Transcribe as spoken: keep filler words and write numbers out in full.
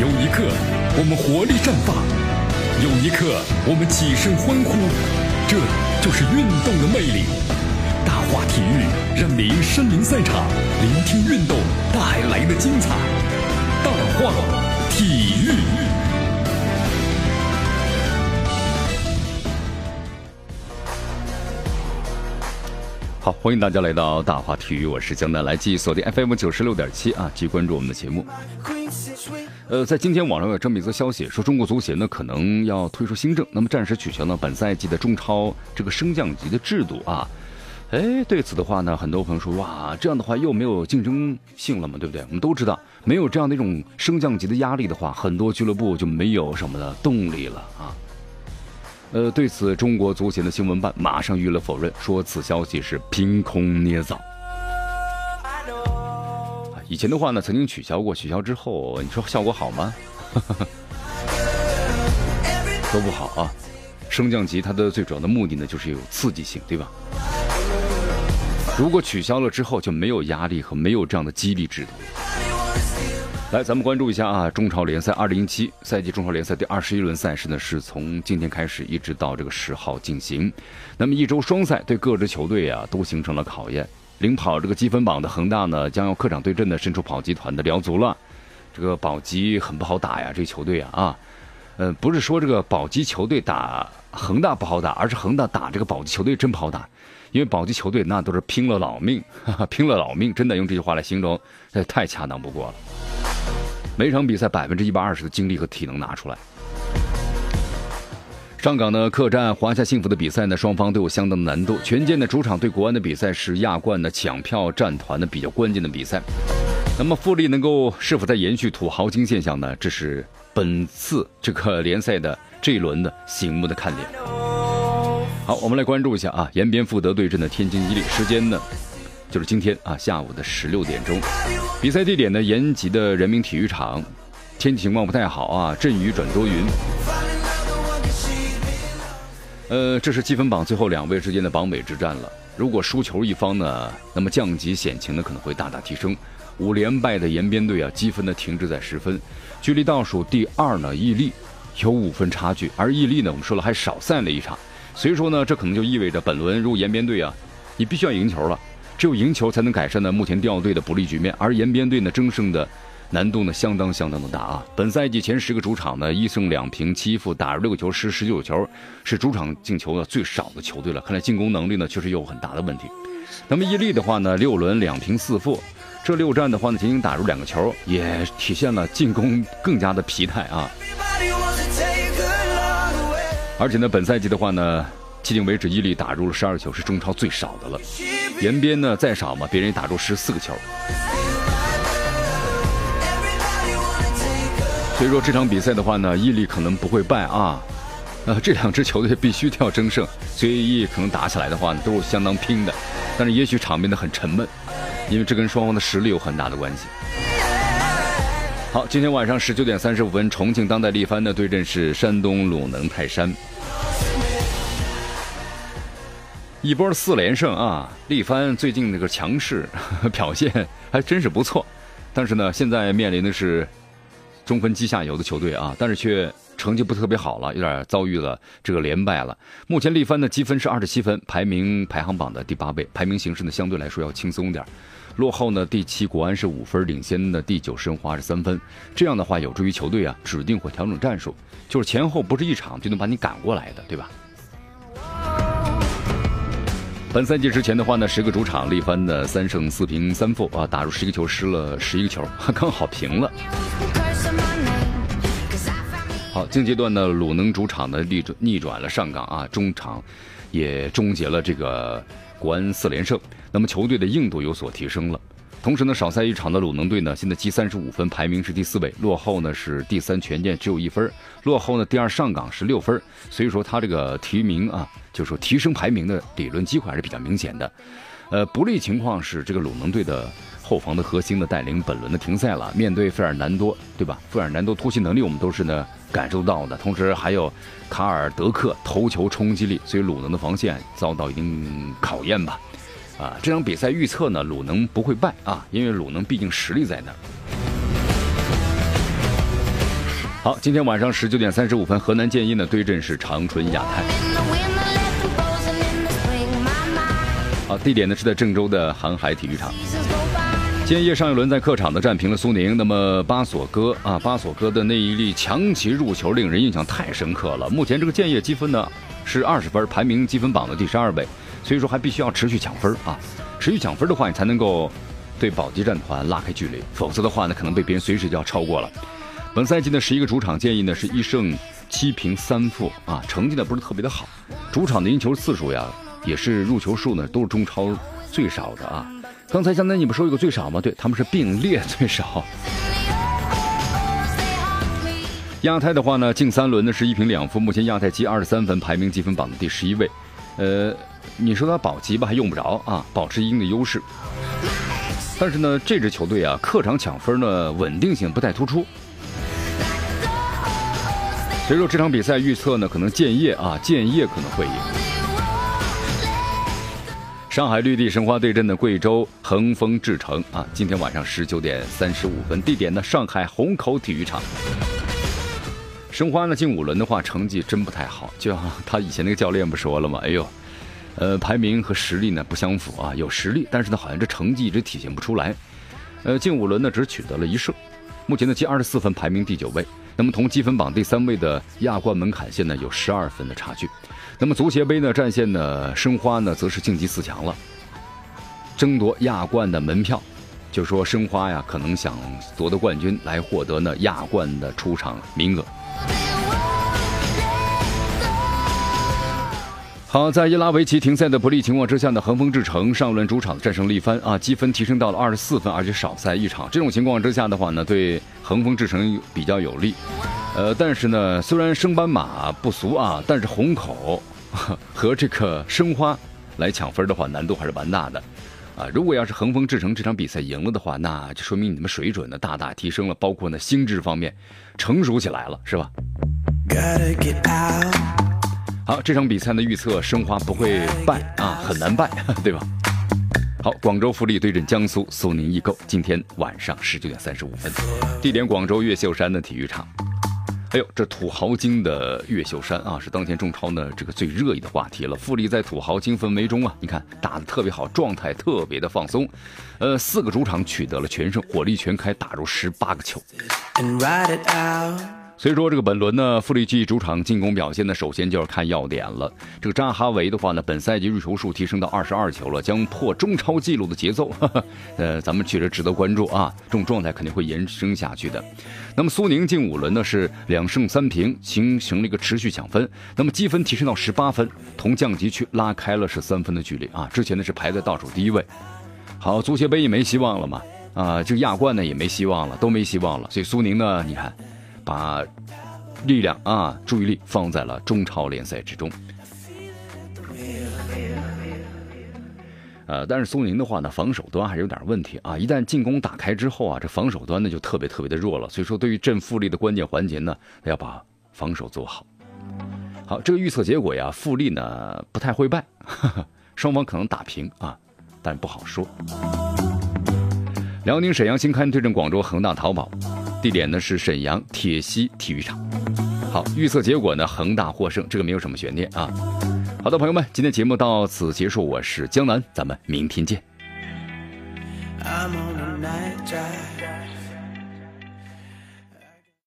有一刻我们活力绽放，有一刻我们起身欢呼，这就是运动的魅力。大话体育让您身临赛场，聆听运动带来的精彩。大话体育。好，欢迎大家来到大话体育，我是江南，来继续锁定 F M 九十六点七啊，继续关注我们的节目。呃，在今天网上有这么一则消息，说中国足协呢可能要推出新政，那么暂时取消呢本赛季的中超这个升降级的制度啊。哎，对此的话呢，很多朋友说，哇，这样的话又没有竞争性了嘛，对不对？我们都知道，没有这样的一种升降级的压力的话，很多俱乐部就没有什么的动力了啊。呃，对此，中国足协的新闻办马上予以了否认，说此消息是凭空捏造。以前的话呢，曾经取消过，取消之后，你说效果好吗？都不好啊。升降级它的最主要的目的呢，就是有刺激性，对吧？如果取消了之后，就没有压力和没有这样的激励制度。来，咱们关注一下啊，中超联赛二零一七赛季中超联赛第二十一轮赛事呢，是从今天开始一直到这个十号进行。那么一周双赛对各支球队啊都形成了考验。领跑这个积分榜的恒大呢，将要客场对阵的身处保级团的辽足了。这个保级很不好打呀，这个球队啊啊，呃，不是说这个保级球队打恒大不好打，而是恒大打这个保级球队真不好打。因为保级球队那都是拼了老命，哈哈，拼了老命，真的用这句话来形容，这太恰当不过了。每场比赛百分之一百二十的精力和体能拿出来。上港呢客战华夏幸福的比赛呢，双方都有相当的难度。权健的主场对国安的比赛是亚冠的抢票战团的比较关键的比赛。那么富力能够是否在延续土豪金现象呢？这是本次这个联赛的这一轮的醒目的看点。好，我们来关注一下啊，延边富德对阵的天津伊利，时间呢就是今天啊下午的十六点钟。比赛地点呢延吉的人民体育场。天气情况不太好啊，阵雨转多云。呃，这是积分榜最后两位之间的榜尾之战了。如果输球一方呢，那么降级险情呢可能会大大提升。五连败的延边队啊，积分呢停滞在十分，距离倒数第二呢伊利有五分差距，而伊利呢我们说了还少赛了一场，所以说呢这可能就意味着本轮如果延边队啊，你必须要赢球了。只有赢球才能改善呢目前掉队的不利局面，而延边队呢争胜的难度呢相当相当的大啊！本赛季前十个主场呢一胜两平七负，打入六个球失十九球，是主场进球呢最少的球队了。看来进攻能力呢确实有很大的问题。那么伊利的话呢，六轮两平四负，这六战的话呢仅仅打入两个球，也体现了进攻更加的疲态啊！而且呢，本赛季的话呢，迄今为止伊利打入了十二球，是中超最少的了。延边呢再少嘛，别人也打入十四个球。所以说这场比赛的话呢，伊利可能不会败啊。呃，这两支球队必须要争胜，所以可能打起来的话呢，都是相当拼的。但是也许场面的很沉闷，因为这跟双方的实力有很大的关系。好，今天晚上十九点三十五分，重庆当代力帆的对阵是山东鲁能泰山。一波四连胜啊！力帆最近那个强势呵呵表现还真是不错，但是呢，现在面临的是中分基下游的球队啊，但是却成绩不特别好了，有点遭遇了这个连败了。目前力帆的积分是二十七分，排名排行榜的第八位，排名形势呢相对来说要轻松点。落后呢第七国安是五分，领先的第九申花是三分。这样的话有助于球队啊指定会调整战术，就是前后不是一场就能把你赶过来的，对吧？本赛季之前的话呢，十个主场力帆的三胜四平三负啊，打入十一个球，失了十一个球，刚好平了。好，近阶段呢，鲁能主场的逆转逆转了上港啊，中场也终结了这个国安四连胜，那么球队的硬度有所提升了。同时呢，少赛一场的鲁能队呢，现在积三十五分，排名是第四位，落后呢是第三权健只有一分，落后呢第二上港是六分，所以说他这个提名啊，就是说提升排名的理论机会还是比较明显的。呃，不利情况是这个鲁能队的后防的核心的带领本轮的停赛了，面对费尔南多，对吧？费尔南多突袭能力我们都是呢感受到的，同时还有卡尔德克头球冲击力，所以鲁能的防线遭到一定考验吧。啊，这场比赛预测呢，鲁能不会败啊，因为鲁能毕竟实力在那儿。 好，今天晚上十九点三十五分，河南建业呢对阵是长春亚泰。好，地点呢是在郑州的航海体育场。建业上一轮在客场呢战平了苏宁，那么巴索戈啊，巴索戈的那一粒强旗入球令人印象太深刻了。目前这个建业积分呢是二十分，排名积分榜的第十二位，所以说还必须要持续抢分啊，持续抢分的话，你才能够对保级战团拉开距离，否则的话呢，可能被别人随时就要超过了。本赛季的十一个主场，建议呢是一胜七平三负啊，成绩呢不是特别的好。主场的赢球次数呀，也是入球数呢都是中超最少的啊。刚才江南你不说一个最少吗？对，他们是并列最少。亚太的话呢，近三轮呢是一平两负，目前亚太积二十三分，排名积分榜的第十一位。呃，你说他保级吧，还用不着啊，保持一定的优势。但是呢，这支球队啊，客场抢分呢稳定性不太突出。所以说这场比赛预测呢，可能建业啊，建业可能会赢。上海绿地申花对阵的贵州恒丰智诚啊，今天晚上十九点三十五分，地点呢上海虹口体育场。申花呢进五轮的话，成绩真不太好，就像他以前那个教练不说了吗？哎呦，呃，排名和实力呢不相符啊，有实力，但是呢好像这成绩一直体现不出来。呃，进五轮呢只取得了一胜，目前呢积二十四分，排名第九位。那么同积分榜第三位的亚冠门槛线呢有十二分的差距。那么足协杯呢战线呢，申花呢则是晋级四强了，争夺亚冠的门票。就说申花呀，可能想夺得冠军来获得呢亚冠的出场名额。好，在伊拉维奇停赛的不利情况之下呢，恒丰智诚上轮主场战胜力帆啊，积分提升到了二十四分，而且少赛一场。这种情况之下的话呢，对恒丰智诚比较有利。呃，但是呢，虽然升班马不俗啊，但是虹口和这个申花来抢分的话，难度还是蛮大的啊。如果要是恒丰智诚这场比赛赢了的话，那就说明你们水准呢大大提升了，包括呢心智方面成熟起来了，是吧？好，这场比赛的预测，申花不会败啊，很难败，对吧？好，广州富力对阵江苏苏宁易购，今天晚上十九点三十五分，地点广州越秀山的体育场。哎呦，这土豪金的越秀山啊，是当前中超呢这个最热议的话题了。富力在土豪金氛围中啊，你看打得特别好，状态特别的放松。呃，四个主场取得了全胜，火力全开，打入十八个球。所以说这个本轮呢，富力继主场进攻表现呢，首先就要看要点了。这个扎哈维的话呢，本赛季入球数提升到二十二球了，将破中超纪录的节奏。呵呵呃，咱们确实值得关注啊，这种状态肯定会延伸下去的。那么苏宁进五轮呢是两胜三平，形成了一个持续抢分，那么积分提升到十八分，同降级区拉开了是三分的距离啊。之前呢是排在倒数第一位。好，足协杯也没希望了嘛，啊，这个亚冠呢也没希望了，都没希望了。所以苏宁呢，你看。把力量啊，注意力放在了中超联赛之中。呃，但是苏宁的话呢，防守端还是有点问题啊。一旦进攻打开之后啊，这防守端呢就特别特别的弱了。所以说，对于镇富力的关键环节呢，要把防守做好。好，这个预测结果呀，富力呢不太会败，呵呵，双方可能打平啊，但不好说。辽宁沈阳新刊对阵广州恒大淘宝。地点呢是沈阳铁西体育场。好，预测结果呢，恒大获胜，这个没有什么悬念啊。好的，朋友们，今天节目到此结束，我是江南，咱们明天见。I'm on a night drive.